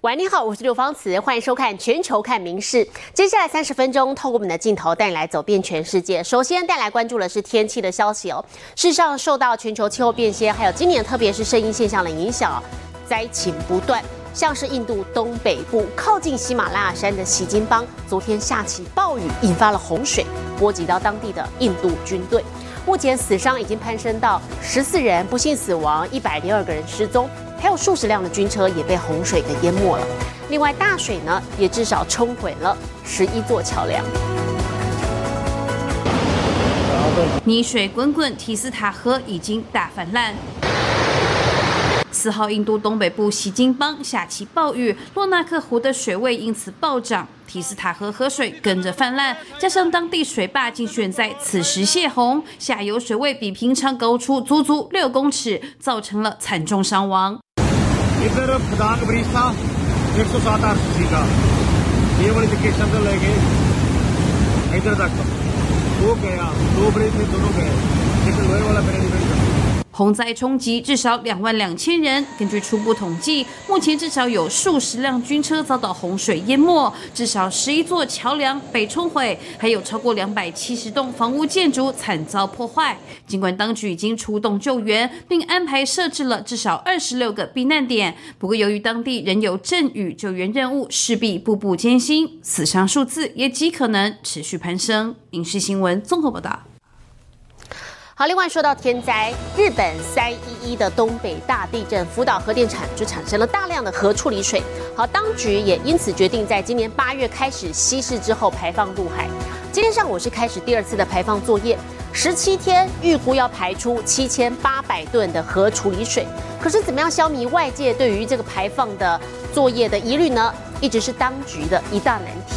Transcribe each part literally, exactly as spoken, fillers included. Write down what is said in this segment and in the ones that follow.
喂，你好，我是刘芳慈，欢迎收看《全球看名事》。接下来三十分钟，透过我们的镜头带你来走遍全世界。首先带来关注的是天气的消息哦。事实上，受到全球气候变迁，还有今年特别是圣婴现象的影响，灾情不断。像是印度东北部靠近喜马拉雅山的喜金邦，昨天下起暴雨，引发了洪水，波及到当地的印度军队。目前死伤已经攀升到十四人，不幸死亡，一百零二个人失踪。还有数十辆的军车也被洪水给淹没了。另外，大水呢也至少冲毁了十一座桥梁。 泥水滚滚，提斯塔河已经大泛滥。四号，印度东北部喜金邦下起暴雨，洛纳克湖的水位因此暴涨，提斯塔河河水跟着泛滥，加上当地水坝竟选在此时泄洪，下游水位比平常高出足足六公尺，造成了惨重伤亡。 इधर प्रधान ब्रिज था एक सौ सात आरसीसी का ये वाली लोकेशन से लेके इधर तक वो गया दो ब्रिज थे दोनों गए लेकिन लोहे वाला ब्रिज नहीं गया。 洪灾冲击至少两万两千人。根据初步统计，目前至少有数十辆军车遭到洪水淹没，至少十一座桥梁被冲毁，还有超过两百七十栋房屋建筑惨遭破坏。尽管当局已经出动救援，并安排设置了至少二十六个避难点，不过由于当地仍有阵雨，救援任务势必步步艰辛，死伤数字也极可能持续攀升。影视新闻综合报道。 好，另外说到天灾，日本三一一的东北大地震，福岛核电厂就产生了大量的核处理水。好，当局也因此决定在今年八月开始稀释之后排放入海。今天上午是开始第二次的排放作业，十七天预估要排出七千八百吨的核处理水。可是怎么样消弭外界对于这个排放的作业的疑虑呢？一直是当局的一大难题。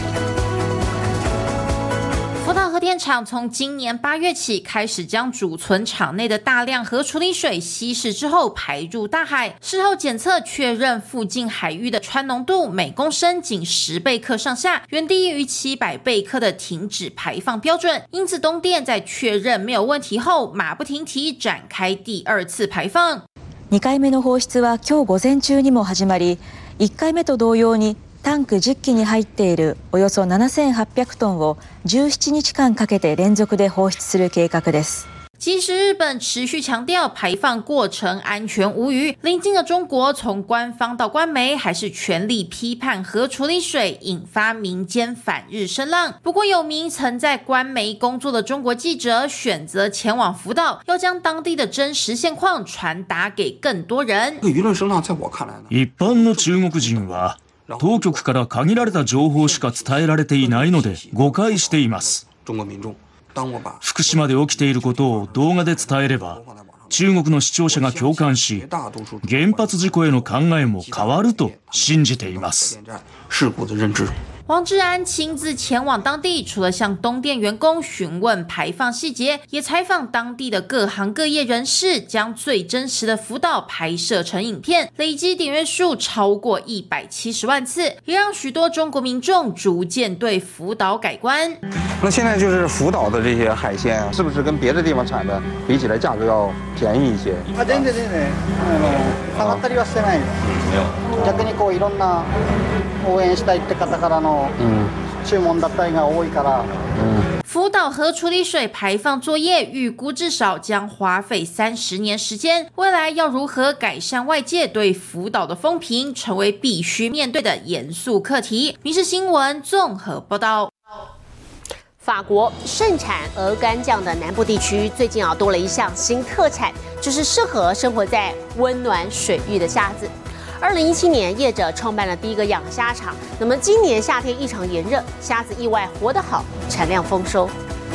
福岛核电厂从今年八月起开始将储存厂内的大量核处理水稀释之后排入大海，事后检测确认附近海域的氚浓度每公升仅十贝克上下，远低于七百贝克的停止排放标准。因此东电在确認没有問題後，馬不停蹄展開第二次排放。 にかいめの放出は今日午前中にも始まり、いっかいめと同様にタンクじゅっきに入っているおよそななせんはっぴゃくトンをじゅうななにちかんかけて連続で放出する計画です。 即使日本持续强调排放过程安全无虞，邻近的中国从官方到官媒还是全力批判核处理水，引发民间反日声浪。不过有名曾在官媒工作的中国记者选择前往福岛，要将当地的真实现况传达给更多人。 舆論声浪在我看来呢， 一般の中国人は当局から限られた情報しか伝えられていないので誤解しています。福島で起きていることを動画で伝えれば、中国の視聴者が共感し、原発事故への考えも変わると信じています。 黄志安亲自前往当地，除了向东电员工询问排放细节，也采访当地的各行各业人士，将最真实的福岛拍摄成影片，累积点阅数超过一百七十万次，也让许多中国民众逐渐对福岛改观。 那现在就是福岛的这些海鲜，是不是跟别的地方产的比起来价格要便宜一些？ あ、全然全然。あの下がったりはしてない。逆にこういろんな応援したいって方からの注文だったりが多いから。 福岛核处理水排放作业预估至少将花费三十年时间，未来要如何改善外界对福岛的风评，成为必须面对的严肃课题。民视新闻综合报道。 法国盛产鹅肝酱的南部地区，最近啊多了一项新特产，就是适合生活在温暖水域的虾子。二零一七年，业者创办了第一个养虾场。那么今年夏天异常炎热，虾子意外活得好，产量丰收。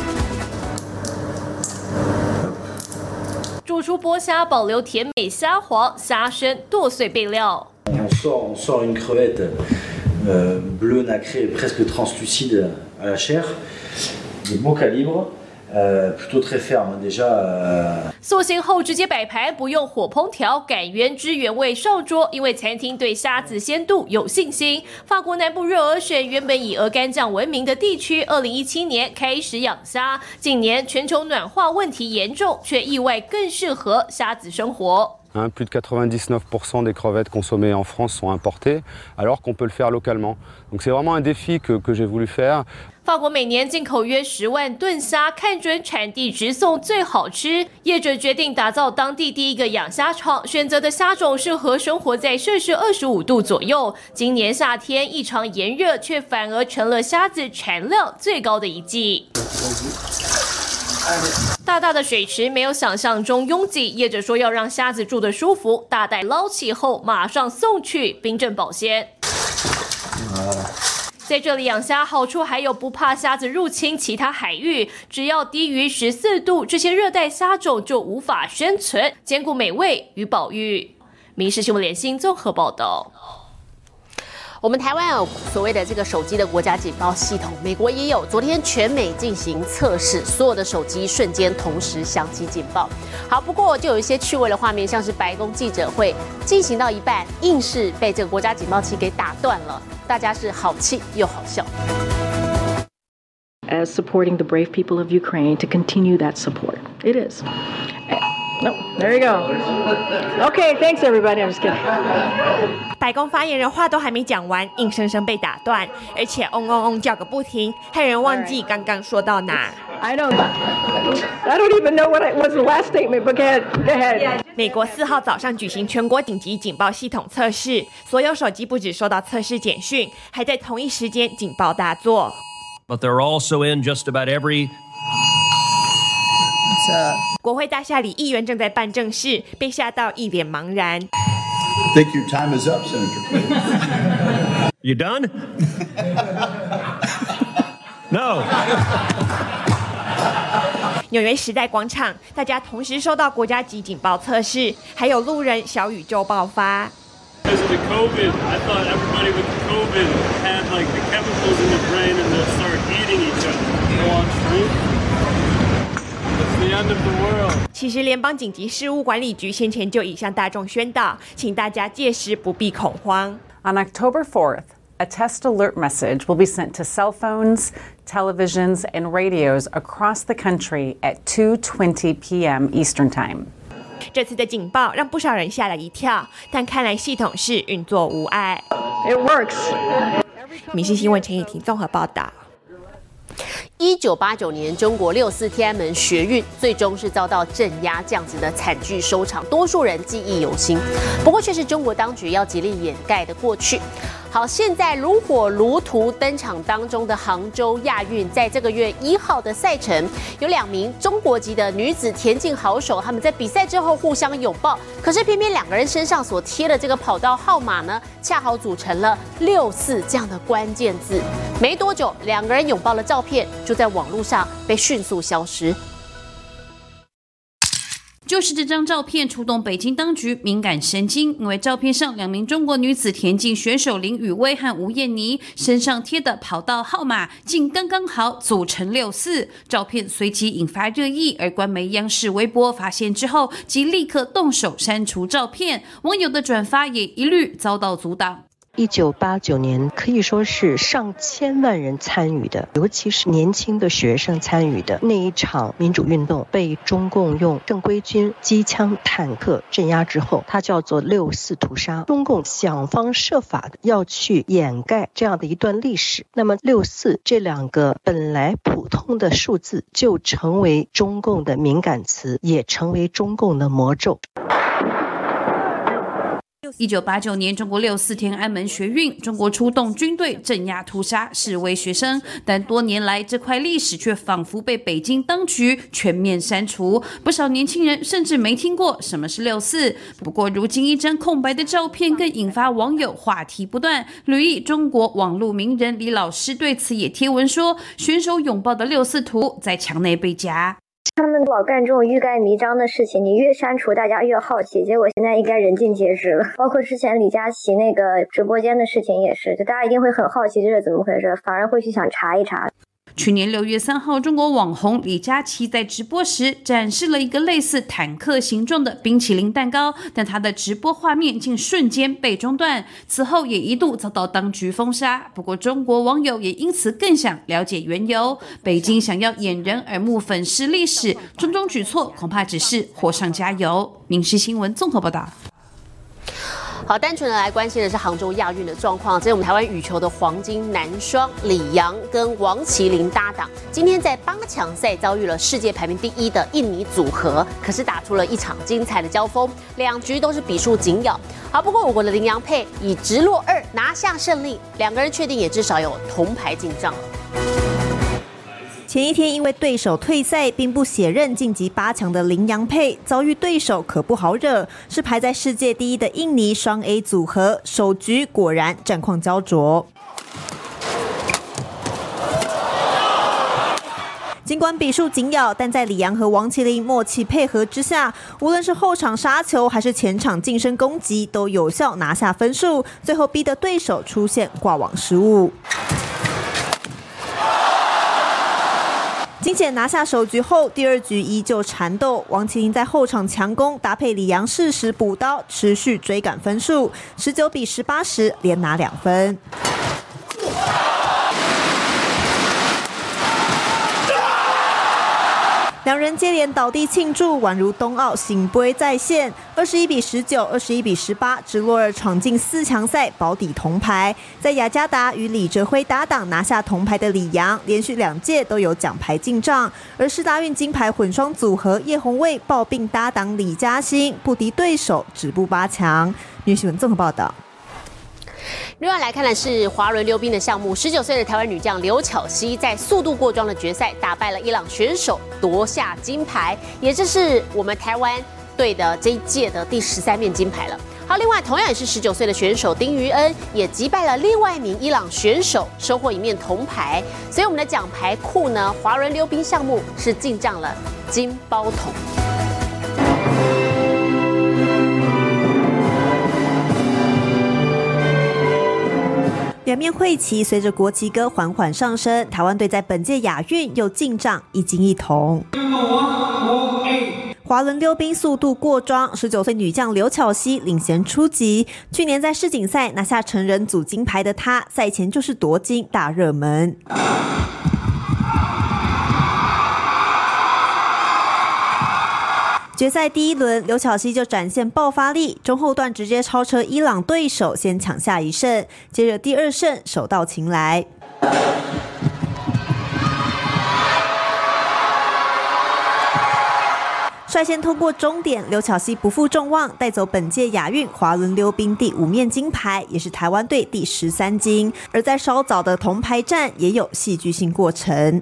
煮出剥虾，保留甜美虾黄、虾身剁碎备料。 On sort, on sort une crevette euh, bleue nacrée, presque translucide à la chair, de bon calibre. Euh, plutôt très ferme déjà. Euh... 塑形后直接摆盘，不用火烹调，改原汁原味上桌。因为餐厅对虾子鲜度有信心。法国南部热尔省原本以鹅肝酱闻名的地区，二零一七年开始养虾。近年全球暖化问题严重，却意外更适合虾子生活。 Hein, plus de quatre-vingt-dix-neuf pour cent des crevettes consommées en France sont importées, alors qu'on peut le faire localement. Donc c'est vraiment un défi que, que j'ai voulu faire. 法国每年进口约十万吨虾，看准产地直送最好吃。业者决定打造当地第一个养虾场，选择的虾种适合生活在摄氏二十五度左右。今年夏天异常炎热，却反而成了虾子产量最高的一季。大大的水池没有想象中拥挤，业者说要让虾子住得舒服，大袋捞起后马上送去，冰镇保鲜。在这里养虾好处还有不怕虾子入侵其他海域，只要低于十四度，这些热带虾种就无法生存，兼顾美味与保育。民视新闻联新综合报道。 我们台湾有所谓的这个手机的国家警报系统，美国也有。昨天全美进行测试，所有的手机瞬间同时响起警报。好，不过就有一些趣味的画面，像是白宫记者会进行到一半，硬是被这个国家警报器给打断了，大家是好气又好笑。 As supporting the brave people of Ukraine to continue that support, it is. No, there you go. Okay, thanks everybody. I'm just kidding. 白宫发言人话都还没讲完，硬生生被打断，而且嗡嗡嗡叫个不停，害人忘记刚刚说到哪。 I don't, I don't even know what was the last statement, but go ahead. Go ahead. 美国四号早上举行全国紧急警报系统测试，所有手机不只收到测试简讯，还在同一时间警报大作。 But they're also in just about every 国会大厦里，议员正在办正事，被吓到一脸茫然。 Think your time is up, Senator. You done? No. 纽约时代广场，大家同时收到国家级警报测试，还有路人小宇宙爆发。 Because of the COVID, I thought everybody with the COVID had like the chemicals in the brain and they'll start eating each other. Go on street.It's the end of the world. 其实，联邦紧急事务管理局先前就已向大众宣导，请大家届时不必恐慌。 On October fourth, a test alert message will be sent to cell phones, televisions, and radios across the country at two twenty p.m. Eastern Time. 这次的警报让不少人吓了一跳，但看来系统是运作无碍。 It works. 民视新闻陈以婷综合报道。 一九八九年，中国六四天安门学运最终是遭到镇压，这样子的惨剧收场，多数人记忆犹新。不过，却是中国当局要极力掩盖的过去。好，现在如火如荼登场当中的杭州亚运，在这个月一号的赛程，有两名中国籍的女子田径好手，他们在比赛之后互相拥抱，可是偏偏两个人身上所贴的这个跑道号码呢，恰好组成了六四这样的关键字。没多久，两个人拥抱的照片就在网络上被迅速消失。 就是这张照片触动北京当局敏感神经，因为照片上两名中国女子田径选手林雨薇和吴燕妮身上贴的跑道号码竟刚刚好组成六四，照片随即引发热议，而官媒央视微博发现之后即立刻动手删除照片，网友的转发也一律遭到阻挡。 一九八九年可以说是上千万人参与的，尤其是年轻的学生参与的那一场民主运动，被中共用正规军、机枪、坦克镇压之后，它叫做六四屠杀。中共想方设法的要去掩盖这样的一段历史，那么六四这两个本来普通的数字就成为中共的敏感词，也成为中共的魔咒。 一九八九年，中国六四天安门学运，中国出动军队镇压屠杀示威学生，但多年来这块历史却仿佛被北京当局全面删除，不少年轻人甚至没听过什么是六四。不过，如今一张空白的照片更引发网友话题不断。旅易中国网络名人李老师对此也贴文说，选手拥抱的六四图在墙内被夹。 他们老干这种欲盖弥彰的事情，你越删除大家越好奇，结果现在应该人尽皆知了。包括之前李佳琦那个直播间的事情也是，就大家一定会很好奇这是怎么回事，反而会去想查一查。 去年六月三号，中国网红李佳琦在直播时展示了一个类似坦克形状的冰淇淋蛋糕，但他的直播画面竟瞬间被中断，此后也一度遭到当局封杀。不过中国网友也因此更想了解缘由，北京想要掩人耳目粉饰历史，种种举措恐怕只是火上加油。民视新闻综合报道。 好，单纯的来关心的是杭州亚运的状况。这是我们台湾羽球的黄金男双李洋跟王麒麟搭档，今天在八强赛遭遇了世界排名第一的印尼组合，可是打出了一场精彩的交锋，两局都是比数紧咬。好，不过我国的麟洋配以直落二拿下胜利，两个人确定也至少有铜牌进账了。 前一天因为对手退赛，并不血刃晋级八强的麟洋配，遭遇对手可不好惹，是排在世界第一的印尼双 A 组合，首局果然战况焦灼。尽管比数紧咬，但在李洋和王麒麟默契配合之下，无论是后场杀球还是前场近身攻击，都有效拿下分数，最后逼得对手出现挂网失误。惊险拿下首局后，第二局依旧缠斗，王麒麟在后场强攻，搭配李洋适时补刀，持续追赶分数，十九比十八时连拿两分。两人接连倒地庆祝，宛如冬奥醒杯再现。二十一比十九、二十一比十八，直落二闯进四强赛，保底铜牌。在雅加达与李哲辉搭档拿下铜牌的李洋，连续两届都有奖牌进账。而世大运金牌混双组合叶红卫抱并搭档李嘉欣，不敌对手，止步八强。女新闻综合报道。 另外来看的是滑轮溜冰的项目，十九岁的台湾女将刘巧熙在速度过桩的决赛打败了伊朗选手，夺下金牌，也这是我们台湾队的这一届的第十三面金牌了。好，另外同样也是十九岁的选手丁于恩也击败了另外一名伊朗选手，收获一面铜牌。所以我们的奖牌库呢，滑轮溜冰项目是进账了金包桶。 两面会旗随着国旗歌缓缓上升，台湾队在本届亚运又进账一金一铜。滑轮溜冰速度过桩，十九岁女将刘巧熙领衔出击。去年在世锦赛拿下成人组金牌的她，赛前就是夺金大热门。决赛第一轮，刘巧熙就展现爆发力，中后段直接超车伊朗对手，先抢下一胜。接着第二胜手到擒来。率先通过终点，刘巧熙不负众望，带走本届亚运滑轮溜冰第五面金牌，也是台湾队第十三金。而在稍早的铜牌战，也有戏剧性过程。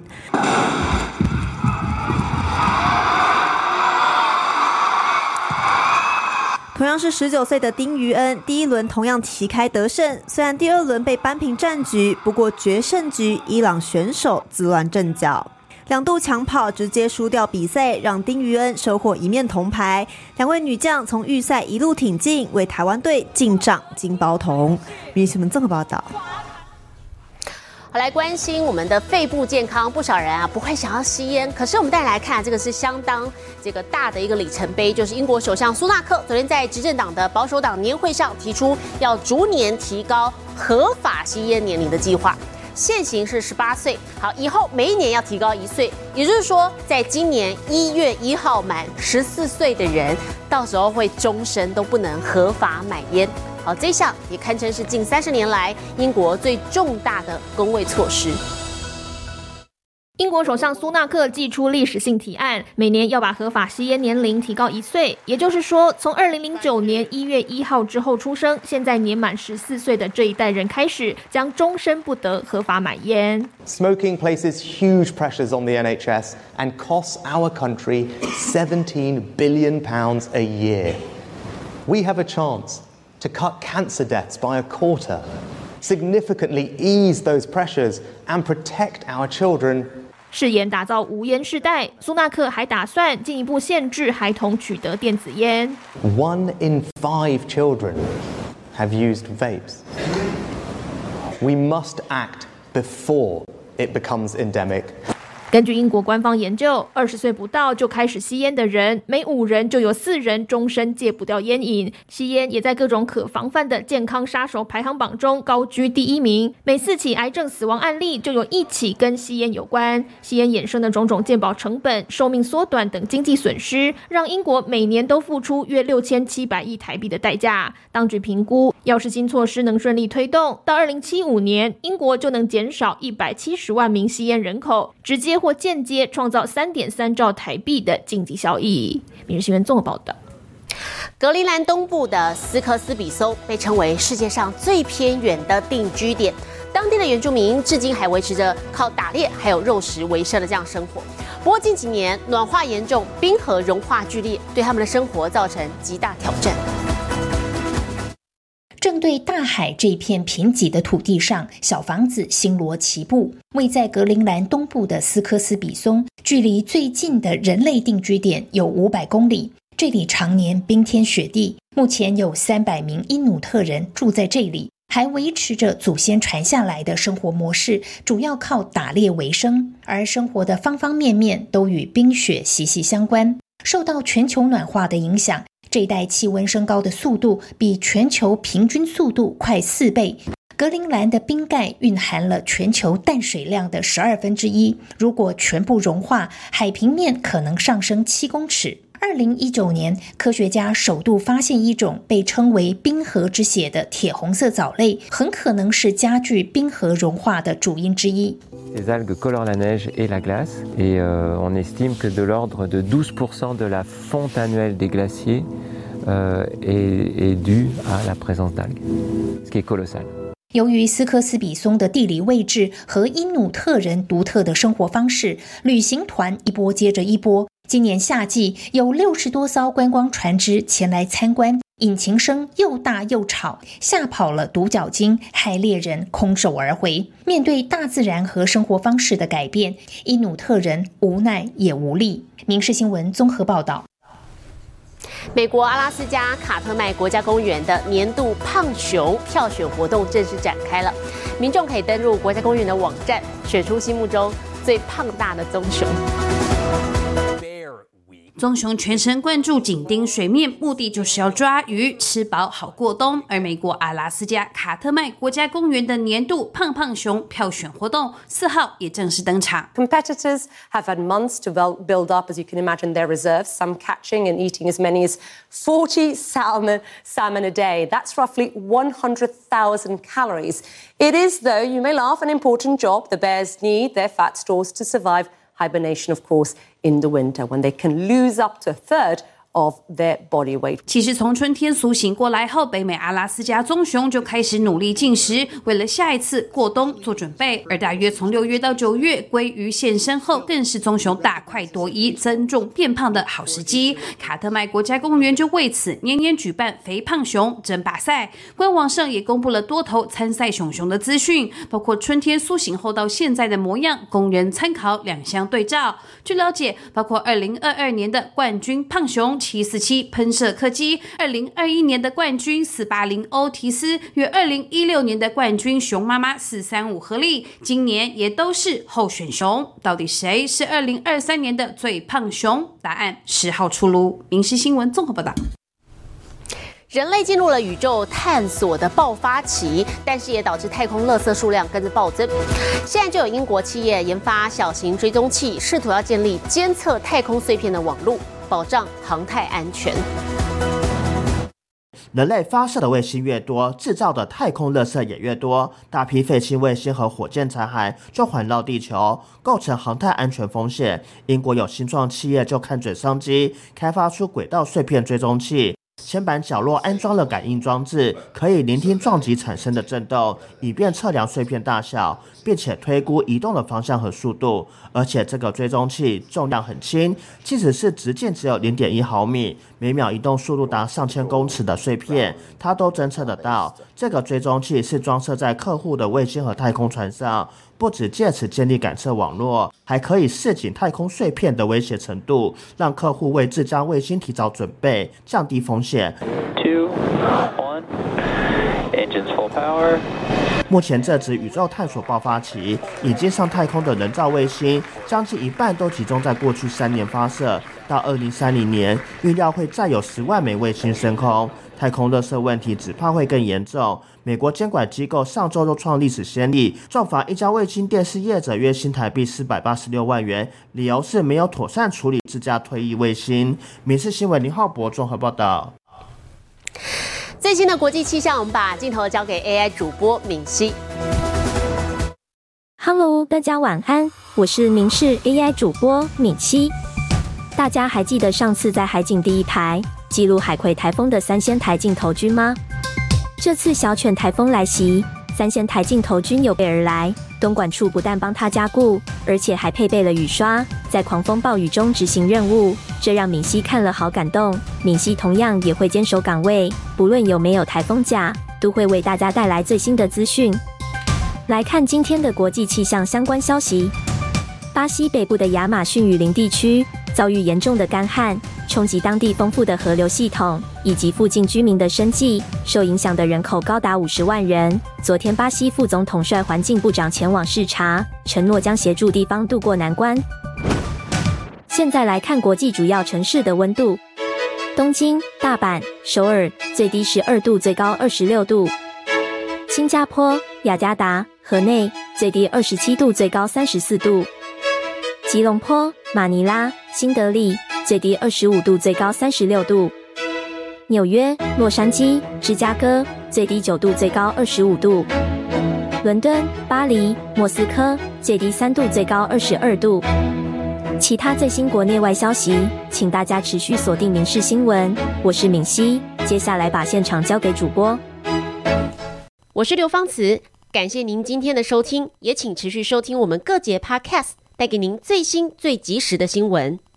同样是十九岁的丁于恩，第一轮同样旗开得胜，虽然第二轮被扳平战局，不过决胜局伊朗选手自乱阵脚，两度抢跑直接输掉比赛，让丁于恩收获一面铜牌。两位女将从预赛一路挺进，为台湾队进账金包铜。民视新闻综合报道。 好，来关心我们的肺部健康，不少人啊不会想要吸烟，可是我们带来看，这个是相当这个大的一个里程碑，就是英国首相苏纳克昨天在执政党的保守党年会上提出要逐年提高合法吸烟年龄的计划，现行是十八岁，好，以后每一年要提高一岁，也就是说，在今年一月一号满十四岁的人，到时候会终身都不能合法买烟。好，这项也堪称是近三十年来英国最重大的公卫措施。 英国首相苏纳克祭出历史性提案，每年要把合法吸烟年龄提高一岁，也就是说，从二零零九年一月一号之后出生，现在年满十四岁的这一代人开始，将终身不得合法买烟。 Smoking places huge pressures on the N H S and costs our country seventeen billion pounds a year. We have a chance to cut cancer deaths by a quarter, significantly ease those pressures and protect our children. 誓言打造无烟世代，苏纳克还打算进一步限制孩童取得电子烟。 One in five children have used vapes. We must act before it becomes endemic. 根据英国官方研究，二十岁不到就开始吸烟的人，每五人就有四人终身戒不掉烟瘾。吸烟也在各种可防范的健康杀手排行榜中高居第一名。每四起癌症死亡案例就有一起跟吸烟有关。吸烟衍生的种种健保成本、寿命缩短等经济损失，让英国每年都付出约六千七百亿台币的代价。当局评估，要是新措施能顺利推动，到二零七五年，英国就能减少一百七十万名吸烟人口，直接或间接创造 三点三兆台币的经济效益。每日新闻综合报道。 格陵兰东部的斯科斯比松被称为世界上最偏远的定居点，当地的原住民至今还维持着靠打猎还有肉食为生的这样生活。不过近几年暖化严重，冰河融化剧烈，对他们的生活造成极大挑战。 正对大海这片贫瘠的土地上，小房子星罗棋布。位在格陵兰东部的斯科斯比松，距离最近的人类定居点有五百公里。这里常年冰天雪地，目前有三百名因努特人住在这里，还维持着祖先传下来的生活模式，主要靠打猎为生，而生活的方方面面都与冰雪息息相关。受到全球暖化的影响，这一带气温升高的速度比全球平均速度快四倍。格陵兰的冰盖蕴含了全球淡水量的十二分之一，如果全部融化，海平面可能上升七公尺。二零一九年，科学家首度发现一种被称为冰河之血的铁红色藻类，很可能是加剧冰河融化的主因之一。 Ces algues colorent la neige et la glace, et euh, on estime que de l'ordre de douze pour cent de la fonte annuelle des glaciers euh, est, est due à la présence d'algues, ce qui est colossal. 由于斯科斯比松的地理位置和因努特人独特的生活方式，旅行团一波接着一波。今年夏季有六十多艘观光船只前来参观，引擎声又大又吵，吓跑了独角鲸，害猎人空手而回。面对大自然和生活方式的改变，因努特人无奈也无力。民视新闻综合报道。 美国阿拉斯加卡特麦国家公园的年度胖熊票选活动正式展开了，民众可以登入国家公园的网站，选出心目中最胖大的棕熊。 棕熊全神贯注紧盯水面，目的就是要抓鱼，吃饱好过冬。而美国阿拉斯加卡特麦国家公园的年度胖胖熊票选活动四号也正式登场。 Competitors have had months to build up, as you can imagine, their reserves, some catching and eating as many as forty salmon, salmon a day. That's roughly one hundred thousand calories. It is, though, you may laugh, an important job. The bears need their fat stores to survive hibernation, of course, in the winter, when they can lose up to a third of their body weight. 其实从春天苏醒过来后，北美阿拉斯加棕熊就开始努力进食，为了下一次过冬做准备。而大约从六月到九月，鲑鱼现身后，更是棕熊大快朵颐、增重变胖的好时机。卡特麦国家公园就为此年年举办肥胖熊争霸赛，官网上也公布了多头参赛熊熊的资讯，包括春天苏醒后到现在的模样，供人参考两相对照。据了解，包括二零二二年的冠军胖熊七四七喷射客机，二零二一年的冠军四八零欧提斯与二零一六年的冠军熊妈妈四三五合力，今年也都是候选熊。到底谁是二零二三年的最胖熊？答案十号出炉。民视新闻综合报道。 人类进入了宇宙探索的爆发期，但是也导致太空垃圾数量跟着暴增。现在就有英国企业研发小型追踪器，试图要建立监测太空碎片的网络，保障航太安全。 人类发射的卫星越多，制造的太空垃圾也越多，大批废弃卫星和火箭残骸就环绕地球，构成航太安全风险。英国有新创企业就看准商机，开发出轨道碎片追踪器。铅板角落安装了感应装置，可以聆听撞击产生的震动，以便测量碎片大小，并且推估移动的方向和速度。而且这个追踪器重量很轻，即使是直径只有 零点一毫米，每秒移动速度达上千公尺的碎片，它都侦测得到。这个追踪器是装设在客户的卫星和太空船上，不只借此建立感测网络，还可以示警太空碎片的威胁程度，让客户为自家卫星提早准备，降低风险。 Two, one, engines full power. 目前正值宇宙探索爆发期，已经上太空的人造卫星，将近一半都集中在过去三年发射。到二零三零年，预料会再有十万枚卫星升空。太空垃圾问题只怕会更严重。美国监管机构上周都创历史先例，重罚一家卫星电视业者约新台币四百八十六万元，理由是没有妥善处理自家退役卫星。民视新闻林浩博综合报道。 最新的国际气象，我们把镜头交给 A I 主播敏熙。 Hello， 大家晚安，我是民视 A I 主播敏熙。大家还记得上次在海景第一排记录海葵台风的三仙台镜头君吗？这次小犬台风来袭，三仙台镜头君有备而来，东莞处不但帮他加固，而且还配备了雨刷，在狂风暴雨中执行任务，这让敏熙看了好感动。敏熙同样也会坚守岗位，不论有没有台风假，都会为大家带来最新的资讯。来看今天的国际气象相关消息。巴西北部的亚马逊雨林地区遭遇严重的干旱，冲击当地丰富的河流系统以及附近居民的生计，受影响的人口高达五十万人。昨天，巴西副总统率环境部长前往视察，承诺将协助地方渡过难关。现在来看国际主要城市的温度：东京、大阪、首尔最低十二度，最高二十六度；新加坡、雅加达、河内最低二十七度，最高三十四度；吉隆坡、马尼拉、新德里最低二十五度，最高三十六度；纽约、洛杉矶、芝加哥最低九度，最高二十五度；伦敦、巴黎、莫斯科最低三度，最高二十二度。其他最新国内外消息，请大家持续锁定民视新闻。我是敏熙，接下来把现场交给主播。 我是刘芳慈，感谢您今天的收听，也请持续收听我们各节 Podcast， 带给您最新最及时的新闻。